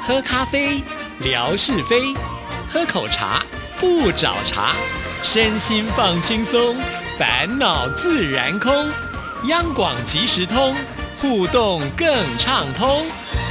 喝咖啡，聊是非；喝口茶，不找茬。身心放轻松，烦恼自然空。央广即时通，互动更畅通。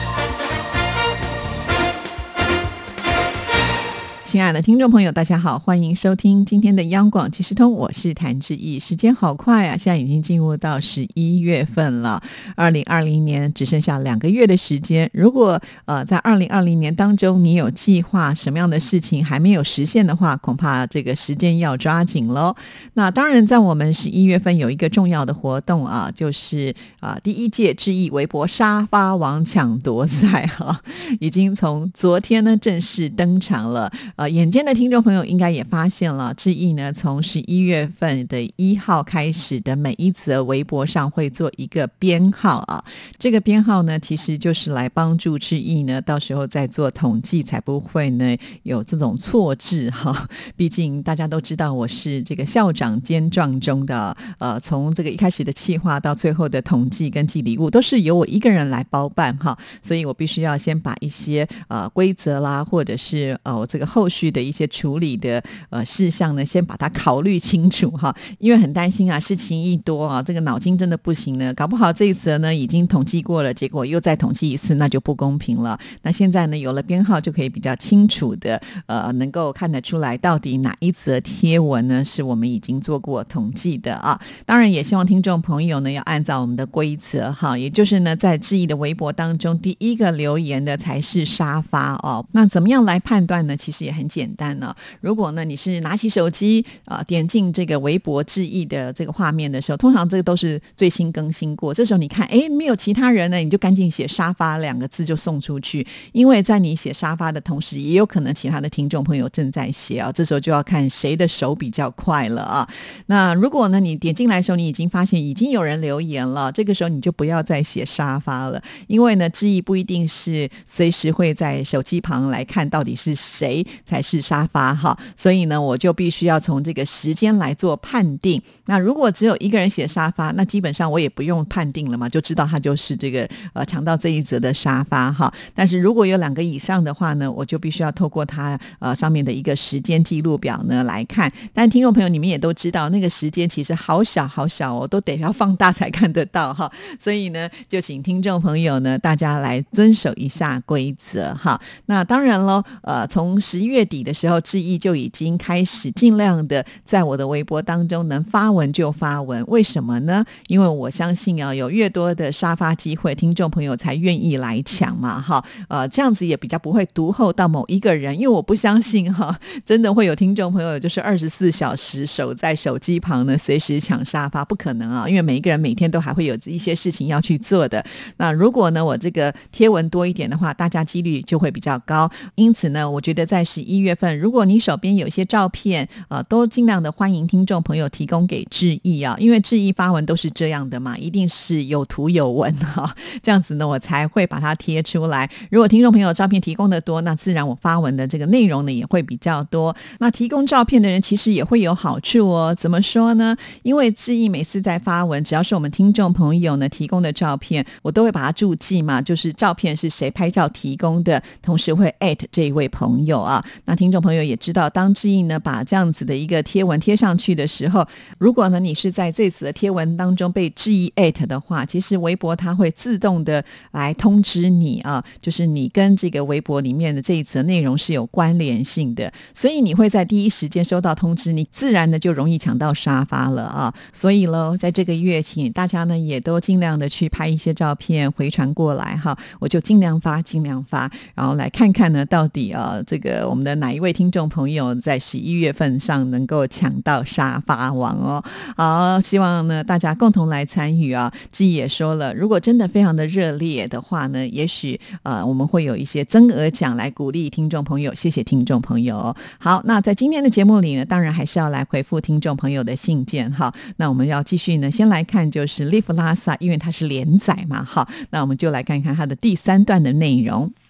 亲爱的听众朋友大家好，欢迎收听今天的央广即时通，我是谭志毅。时间好快啊，现在已经进入到11月份了，2020年只剩下2个月的时间。如果在2020年当中你有计划什么样的事情还没有实现的话，恐怕这个时间要抓紧咯。那当然在我们11月份有一个重要的活动啊，就是第1届志毅微博沙发王抢夺赛已经从昨天呢正式登场了。眼尖的听众朋友应该也发现了，志毅呢从11月份的1号开始的每一则微博上会做一个编号啊，这个编号呢其实就是来帮助志毅呢到时候再做统计，才不会呢有这种错字毕竟大家都知道我是这个校长兼撞钟的，从这个一开始的企划到最后的统计跟寄礼物都是由我一个人来包办所以我必须要先把一些规则啦，或者是我这个后续的一些处理的事项呢先把它考虑清楚因为很担心事情一多这个脑筋真的不行呢，搞不好这一次呢已经统计过了，结果又再统计一次，那就不公平了。那现在呢有了编号，就可以比较清楚的能够看得出来到底哪一则贴文呢是我们已经做过统计的当然也希望听众朋友呢要按照我们的规则也就是呢在志毅的微博当中第一个留言的才是沙发那怎么样来判断呢？其实也很简单如果呢你是拿起手机点进这个微博志毅的这个画面的时候，通常这个都是最新更新过，这时候你看没有其他人呢，你就赶紧写沙发2个字就送出去，因为在你写沙发的同时也有可能其他的听众朋友正在写这时候就要看谁的手比较快了那如果呢你点进来的时候你已经发现已经有人留言了，这个时候你就不要再写沙发了，因为呢志毅不一定是随时会在手机旁来看到底是谁才是沙发所以呢我就必须要从这个时间来做判定。那如果只有一个人写沙发，那基本上我也不用判定了嘛，就知道他就是这个抢到这一则的沙发但是如果有2个以上的话呢，我就必须要透过他上面的一个时间记录表呢来看。但听众朋友你们也都知道那个时间其实好小好小都得要放大才看得到所以呢就请听众朋友呢大家来遵守一下规则那当然咯从11月底的时候，志毅就已经开始尽量的在我的微博当中能发文就发文。为什么呢？因为我相信有越多的沙发机会，听众朋友才愿意来抢嘛这样子也比较不会独厚到某一个人，因为我不相信真的会有听众朋友就是24小时守在手机旁呢随时抢沙发，不可能因为每一个人每天都还会有一些事情要去做的。那如果呢我这个贴文多一点的话，大家几率就会比较高。因此呢我觉得在11月份，如果你手边有一些照片都尽量的欢迎听众朋友提供给志毅因为志毅发文都是这样的嘛，一定是有图有文这样子呢我才会把它贴出来。如果听众朋友照片提供的多，那自然我发文的这个内容呢也会比较多。那提供照片的人其实也会有好处怎么说呢？因为志毅每次在发文，只要是我们听众朋友呢提供的照片，我都会把它注记嘛，就是照片是谁拍照提供的，同时会 at 这一位朋友那听众朋友也知道，当志毅呢把这样子的一个贴文贴上去的时候，如果呢你是在这次的贴文当中被志毅 at 的话，其实微博它会自动的来通知你就是你跟这个微博里面的这一则内容是有关联性的，所以你会在第一时间收到通知，你自然的就容易抢到沙发了所以咯，在这个月请大家呢也都尽量的去拍一些照片回传过来我就尽量发，然后来看看呢到底这个我们的哪一位听众朋友在11月份上能够抢到沙发王好，希望呢大家共同来参与志毅也说了，如果真的非常的热烈的话呢，也许我们会有一些增额奖来鼓励听众朋友，谢谢听众朋友好，那在今天的节目里呢，当然还是要来回复听众朋友的信件那我们要继续呢先来看就是利弗拉萨，因为它是连载嘛那我们就来看看它的第3段的内容。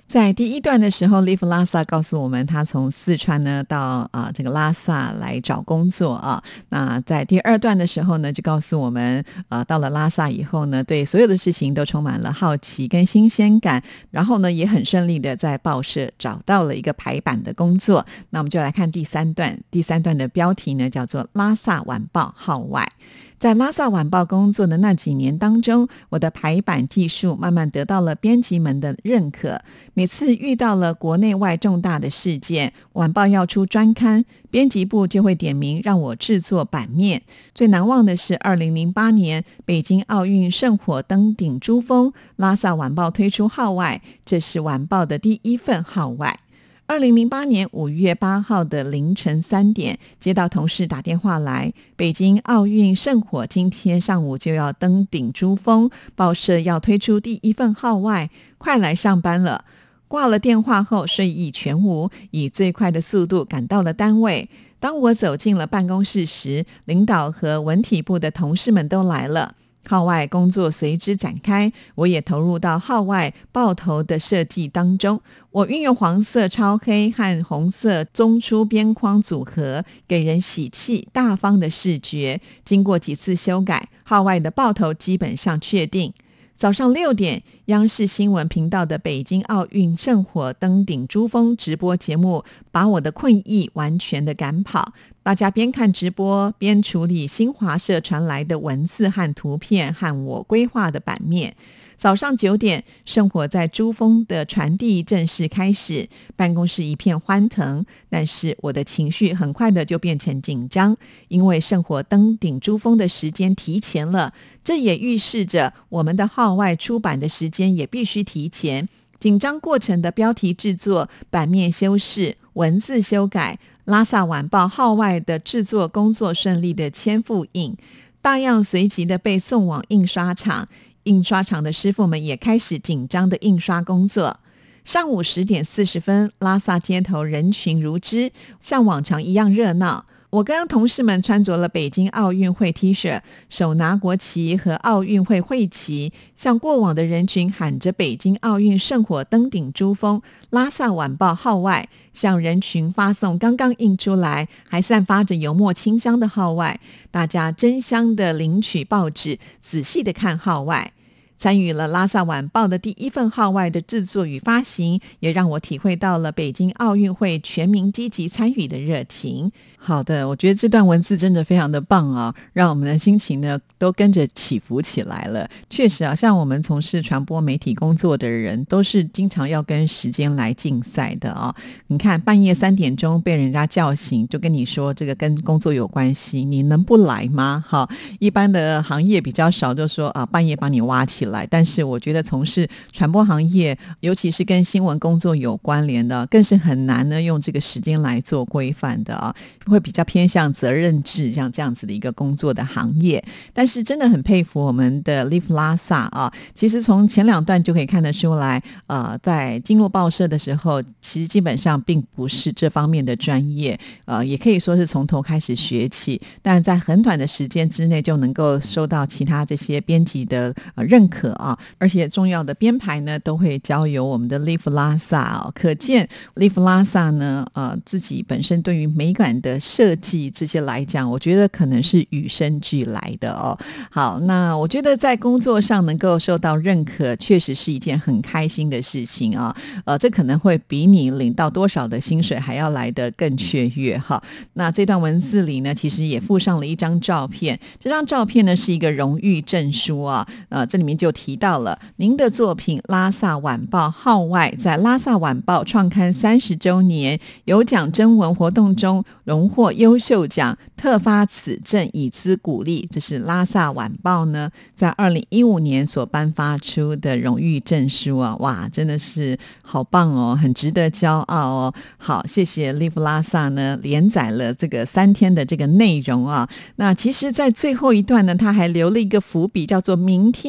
在第一段的时候 Live 拉萨告诉我们他从四川呢到这个拉萨来找工作啊。那在第二段的时候呢就告诉我们到了拉萨以后呢对所有的事情都充满了好奇跟新鲜感，然后呢也很顺利的在报社找到了一个排版的工作。那我们就来看第三段的标题呢叫做拉萨晚报号外。在拉萨晚报工作的那几年当中，我的排版技术慢慢得到了编辑们的认可。每次遇到了国内外重大的事件，晚报要出专刊，编辑部就会点名让我制作版面。最难忘的是2008年北京奥运圣火登顶珠峰，拉萨晚报推出号外，这是晚报的第一份号外。2008年5月8号的凌晨3点，接到同事打电话来，北京奥运圣火今天上午就要登顶珠峰，报社要推出第一份号外，快来上班了。挂了电话后睡意全无，以最快的速度赶到了单位。当我走进了办公室时，领导和文体部的同事们都来了。号外工作随之展开，我也投入到号外报头的设计当中。我运用黄色超黑和红色中出边框组合，给人喜气大方的视觉。经过几次修改，号外的报头基本上确定。早上6点，央视新闻频道的北京奥运圣火登顶珠峰直播节目把我的困意完全的赶跑。大家边看直播边处理新华社传来的文字和图片和我规划的版面。早上9点，圣火在珠峰的传递正式开始，办公室一片欢腾，但是我的情绪很快的就变成紧张，因为圣火登顶珠峰的时间提前了，这也预示着我们的号外出版的时间也必须提前。紧张过程的标题制作、版面修饰、文字修改，拉萨晚报号外的制作工作顺利的签复印，大样随即的被送往印刷厂。印刷厂的师傅们也开始紧张的印刷工作。上午10点40分，拉萨街头人群如织，像往常一样热闹。我跟同事们穿着了北京奥运会 T 恤，手拿国旗和奥运会会旗，向过往的人群喊着北京奥运圣火登顶珠峰，拉萨晚报号外，向人群发送刚刚印出来还散发着油墨清香的号外。大家争相的领取报纸，仔细的看号外。参与了拉萨晚报的第一份号外的制作与发行，也让我体会到了北京奥运会全民积极参与的热情。好的，我觉得这段文字真的非常的棒啊，让我们的心情呢都跟着起伏起来了。确实啊，像我们从事传播媒体工作的人，都是经常要跟时间来竞赛的啊。你看半夜3点钟被人家叫醒，就跟你说这个跟工作有关系，你能不来吗？好，一般的行业比较少，就说半夜把你挖起来。但是我觉得从事传播行业，尤其是跟新闻工作有关联的，更是很难呢用这个时间来做规范的啊，会比较偏向责任制像这样子的一个工作的行业。但是真的很佩服我们的 Live 拉萨啊，其实从前2段就可以看得出来，在进入报社的时候，其实基本上并不是这方面的专业，也可以说是从头开始学起，但在很短的时间之内就能够受到其他这些编辑的认可啊，而且重要的编排呢都会交由我们的 Live 拉萨啊，可见 Live 拉萨呢自己本身对于美感的设计这些来讲，我觉得可能是与生俱来的哦。好，那我觉得在工作上能够受到认可，确实是一件很开心的事情啊。这可能会比你领到多少的薪水还要来得更雀跃哈。那这段文字里呢，其实也附上了一张照片，这张照片呢是一个荣誉证书啊，这里面就提到了您的作品《拉萨晚报》号外在拉萨晚报创刊30周年有奖征文活动中荣获优秀奖，特发此证以资鼓励。这是拉萨晚报呢在2015年所颁发出的荣誉证书啊，哇，真的是好棒哦，很值得骄傲哦。好，谢谢 Live 拉萨呢连载了这个3天的这个内容啊。那其实在最后一段呢，他还留了一个伏笔，叫做明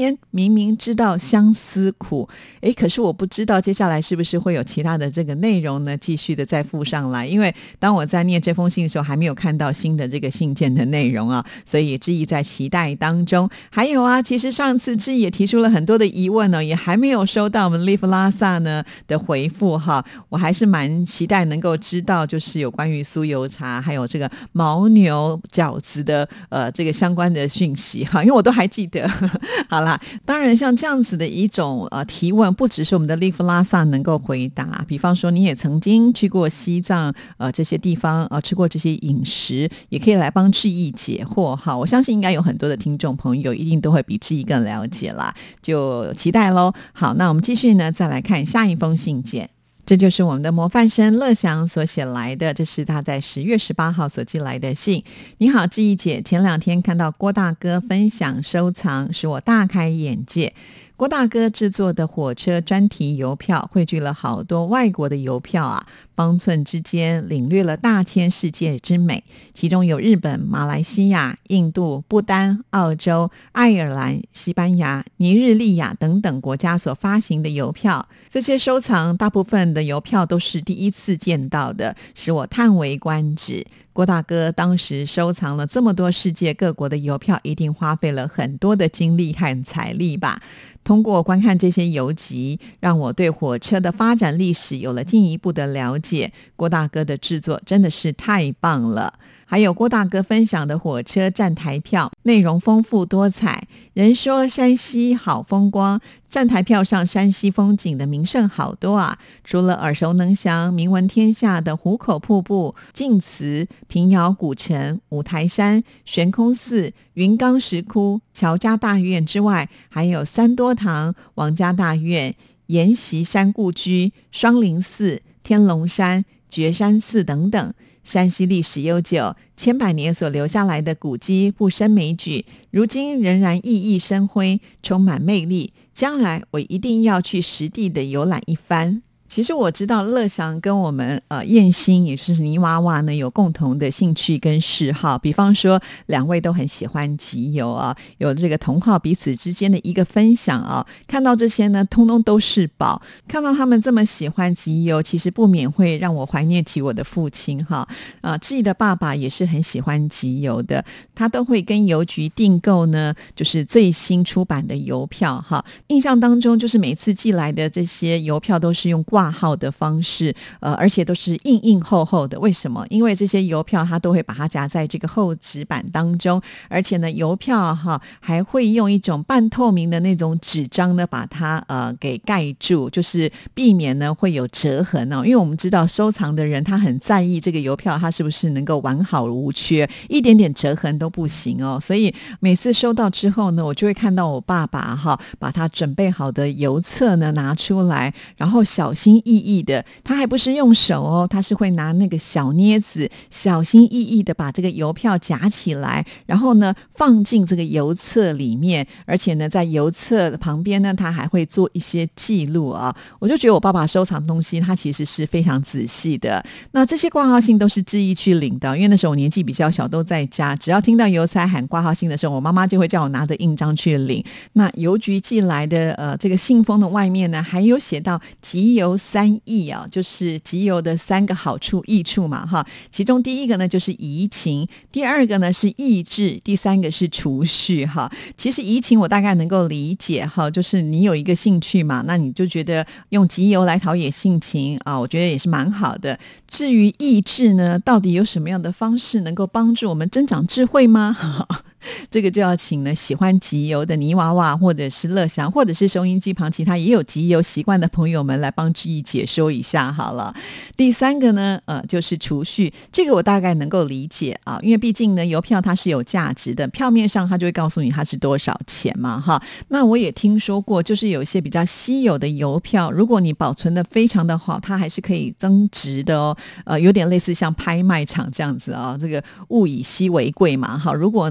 明明知道相思苦，可是我不知道接下来是不是会有其他的这个内容呢继续的再附上来，因为当我在念这封信的时候还没有看到新的这个信件的内容啊，所以志毅在期待当中。还有啊，其实上次志毅也提出了很多的疑问呢，也还没有收到我们 Live 拉萨呢的回复哈，我还是蛮期待能够知道就是有关于酥油茶还有这个牦牛饺子的这个相关的讯息哈，因为我都还记得好啦，当然像这样子的一种提问，不只是我们的 Live 拉萨能够回答，比方说你也曾经去过西藏这些地方吃过这些饮食，也可以来帮志毅解惑哈。我相信应该有很多的听众朋友一定都会比志毅更了解啦，就期待咯。好，那我们继续呢，再来看下一封信件。这就是我们的模范生乐祥所写来的，这是他在10月18号所寄来的信。你好，志毅姐，前2天看到郭大哥分享收藏，使我大开眼界。郭大哥制作的火车专题邮票汇聚了好多外国的邮票啊，方寸之间领略了大千世界之美，其中有日本、马来西亚、印度、不丹、澳洲、爱尔兰、西班牙、尼日利亚等等国家所发行的邮票。这些收藏大部分的邮票都是第一次见到的，使我叹为观止。郭大哥当时收藏了这么多世界各国的邮票，一定花费了很多的精力和财力吧。通过观看这些邮集，让我对火车的发展历史有了进一步的了解。郭大哥的制作真的是太棒了。还有郭大哥分享的火车站台票，内容丰富多彩。人说山西好风光，站台票上山西风景的名胜好多啊！除了耳熟能详、名闻天下的壶口瀑布、晋祠、平遥古城、五台山、悬空寺、云冈石窟、乔家大院之外，还有三多堂、王家大院、阎锡山故居、双林寺、天龙山、觉山寺等等。山西历史悠久，千百年所留下来的古迹不胜枚举，如今仍然熠熠生辉，充满魅力。将来我一定要去实地的游览一番。其实我知道乐祥跟我们燕心也就是泥娃娃呢有共同的兴趣跟嗜好，比方说2位都很喜欢集邮啊，有这个同好彼此之间的一个分享啊，看到这些呢通通都是宝。看到他们这么喜欢集邮，其实不免会让我怀念起我的父亲哈。志毅的爸爸也是很喜欢集邮的，他都会跟邮局订购呢就是最新出版的邮票哈。印象当中就是每次寄来的这些邮票都是用挂号的方式，而且都是硬硬厚厚的。为什么？因为这些邮票它都会把它夹在这个厚纸板当中，而且呢邮票还会用一种半透明的那种纸张呢把它给盖住，就是避免呢会有折痕哦。因为我们知道收藏的人他很在意这个邮票它是不是能够完好无缺，一点点折痕都不行哦。所以每次收到之后呢，我就会看到我爸爸把他准备好的邮册呢拿出来，然后小心翼翼的，他还不是用手哦，他是会拿那个小镊子小心翼翼的把这个邮票夹起来，然后呢放进这个邮册里面，而且呢在邮册旁边呢他还会做一些记录啊。我就觉得我爸爸收藏东西他其实是非常仔细的。那这些挂号信都是志毅去领的，因为那时候我年纪比较小，都在家，只要听到邮差喊挂号信的时候，我妈妈就会叫我拿着印章去领。那邮局寄来的这个信封的外面呢还有写到集邮3益啊，就是集邮的3个好处益处嘛哈。其中第一个呢就是怡情，第二个呢是益智，第3个是储蓄哈。其实怡情我大概能够理解哈，就是你有一个兴趣嘛，那你就觉得用集邮来陶冶性情啊，我觉得也是蛮好的。至于益智呢，到底有什么样的方式能够帮助我们增长智慧吗？这个就要请呢喜欢集邮的泥娃娃或者是乐祥或者是收音机旁其他也有集邮习惯的朋友们来帮志毅解说一下好了。第3个呢就是储蓄，这个我大概能够理解啊，因为毕竟呢邮票它是有价值的，票面上它就会告诉你它是多少钱嘛哈。那我也听说过就是有一些比较稀有的邮票，如果你保存的非常的好，它还是可以增值的哦。有点类似像拍卖场这样子啊，这个物以稀为贵嘛哈。如果呢有人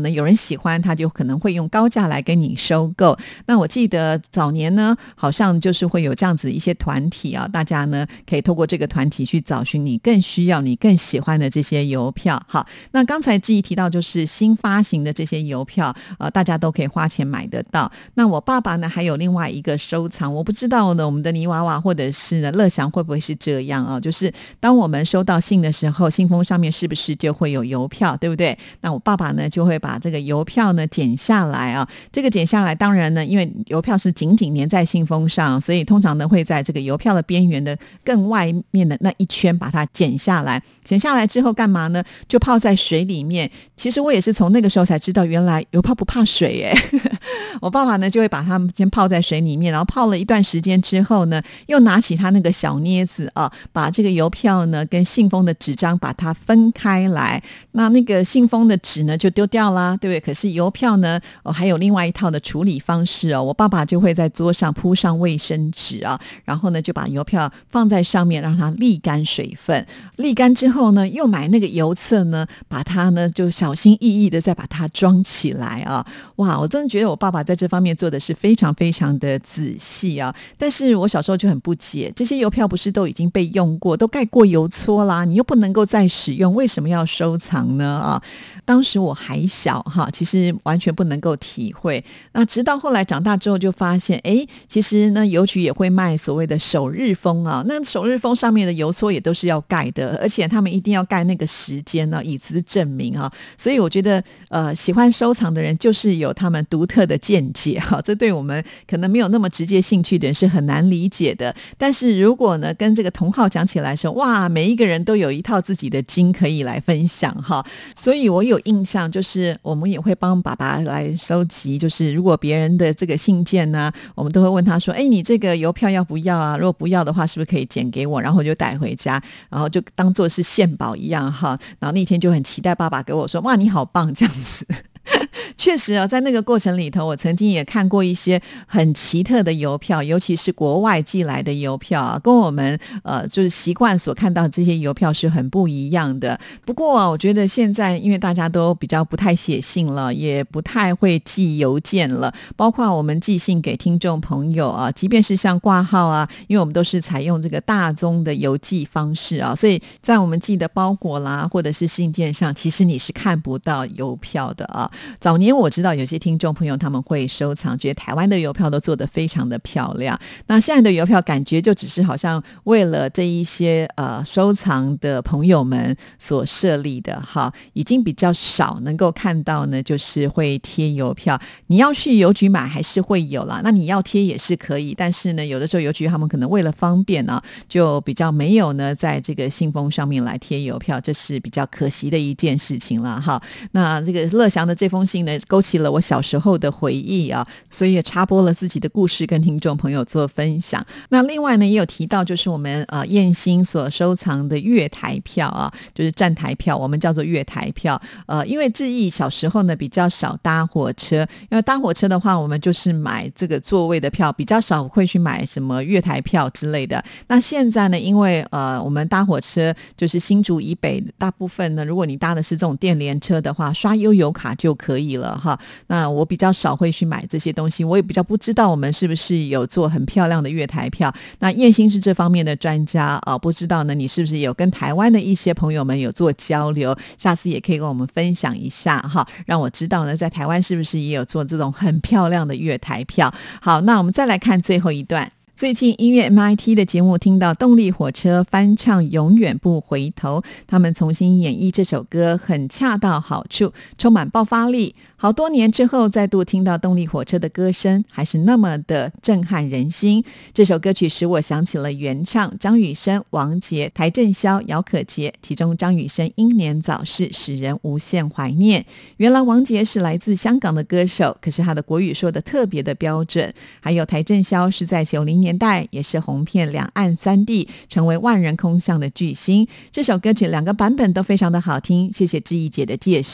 喜欢，他就可能会用高价来跟你收购。那我记得早年呢，好像就是会有这样子一些团体啊，大家呢可以透过这个团体去找寻你更需要、你更喜欢的这些邮票。好，那刚才志毅提到就是新发行的这些邮票，大家都可以花钱买得到。那我爸爸呢还有另外一个收藏，我不知道呢我们的泥娃娃或者是呢乐祥会不会是这样啊？就是当我们收到信的时候，信封上面是不是就会有邮票，对不对？那我爸爸呢就会把这个邮票呢剪下来啊，这个剪下来当然呢因为邮票是紧紧粘在信封上，所以通常呢会在这个邮票的边缘的更外面的那一圈把它剪下来。剪下来之后干嘛呢？就泡在水里面。其实我也是从那个时候才知道原来邮票不怕水耶我爸爸呢就会把它们先泡在水里面，然后泡了一段时间之后呢，又拿起他那个小镊子啊，把这个邮票呢跟信封的纸张把它分开来。那个信封的纸呢就丢掉啦，对不对？可是邮票呢还有另外一套的处理方式哦。我爸爸就会在桌上铺上卫生纸啊，然后呢就把邮票放在上面让它沥干水分，沥干之后呢又买那个邮册呢，把它呢就小心翼翼的再把它装起来啊。哇，我真的觉得我爸爸在这方面做的是非常非常的仔细啊。但是我小时候就很不解，这些邮票不是都已经被用过，都盖过邮戳啦，你又不能够再使用，为什么要收藏呢？啊，当时我还小哈，其实完全不能够体会。那直到后来长大之后就发现，其实呢邮局也会卖所谓的首日封啊，那首日封上面的邮戳也都是要盖的，而且他们一定要盖那个时间呢，以资证明啊。所以我觉得喜欢收藏的人就是有他们独特的见解哈，这对我们可能没有那么直接兴趣的人是很难理解的。但是如果呢跟这个同好讲起来说，哇，每一个人都有一套自己的经可以来分享哈。所以我有印象，就是我们也会帮爸爸来收集，就是如果别人的这个信件呢，我们都会问他说，你这个邮票要不要啊？如果不要的话是不是可以剪给我，然后我就带回家，然后就当作是献宝一样哈。然后那天就很期待爸爸给我说，哇，你好棒这样子确实啊，在那个过程里头，我曾经也看过一些很奇特的邮票，尤其是国外寄来的邮票啊，跟我们就是习惯所看到这些邮票是很不一样的。不过我觉得现在因为大家都比较不太写信了，也不太会寄邮件了，包括我们寄信给听众朋友啊，即便是像挂号啊，因为我们都是采用这个大宗的邮寄方式啊，所以在我们寄的包裹啦或者是信件上，其实你是看不到邮票的啊。早年我知道有些听众朋友他们会收藏，觉得台湾的邮票都做得非常的漂亮。那现在的邮票感觉就只是好像为了这一些收藏的朋友们所设立的哈，已经比较少能够看到呢，就是会贴邮票。你要去邮局买还是会有啦，那你要贴也是可以，但是呢有的时候邮局他们可能为了方便啊，就比较没有呢在这个信封上面来贴邮票，这是比较可惜的一件事情啦哈。那这个乐祥的这封信呢勾起了我小时候的回忆啊，所以也插播了自己的故事跟听众朋友做分享。那另外呢也有提到就是我们燕兴所收藏的月台票啊，就是站台票，我们叫做月台票。因为志毅小时候呢比较少搭火车，因为搭火车的话我们就是买这个座位的票，比较少会去买什么月台票之类的。那现在呢因为我们搭火车就是新竹以北大部分呢，如果你搭的是这种电联车的话，刷悠游卡就可以了哈。那我比较少会去买这些东西，我也比较不知道我们是不是有做很漂亮的月台票。那燕兴是这方面的专家不知道呢你是不是有跟台湾的一些朋友们有做交流，下次也可以跟我们分享一下哈，让我知道呢在台湾是不是也有做这种很漂亮的月台票。好，那我们再来看最后一段。最近音乐 MIT 的节目听到动力火车翻唱永远不回头，他们重新演绎这首歌很恰到好处，充满爆发力。好多年之后再度听到动力火车的歌声，还是那么的震撼人心。这首歌曲使我想起了原唱张雨生、王杰、邰正宵、姚可杰，其中张雨生英年早逝，使人无限怀念。原来王杰是来自香港的歌手，可是他的国语说的特别的标准。还有邰正宵是在90年代也是红遍两岸三地，成为万人空巷的巨星。这首歌曲2个版本都非常的好听，谢谢志毅姐的介绍。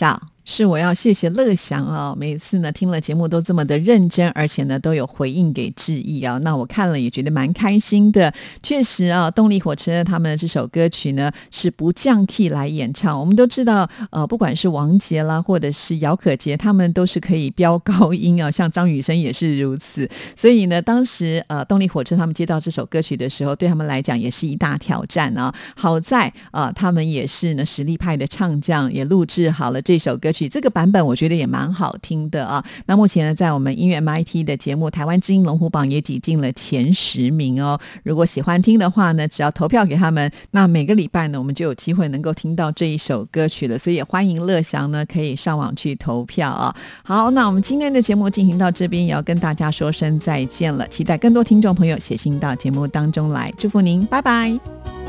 是，我要谢谢乐祥啊，每一次呢听了节目都这么的认真，而且呢都有回应给致意啊。那我看了也觉得蛮开心的。确实啊，动力火车他们这首歌曲呢是不降 key 来演唱。我们都知道，不管是王杰啦，或者是姚可杰，他们都是可以飙高音啊，像张雨生也是如此。所以呢，当时动力火车他们接到这首歌曲的时候，对他们来讲也是一大挑战啊。好在他们也是呢实力派的唱将，也录制好了这首歌曲。这个版本我觉得也蛮好听的啊。那目前呢，在我们音乐 MIT 的节目台湾之音龙虎榜也挤进了前10名哦。如果喜欢听的话呢，只要投票给他们，那每个礼拜呢，我们就有机会能够听到这一首歌曲了。所以也欢迎乐祥呢可以上网去投票啊。好，那我们今天的节目进行到这边，也要跟大家说声再见了。期待更多听众朋友写信到节目当中来，祝福您，拜拜。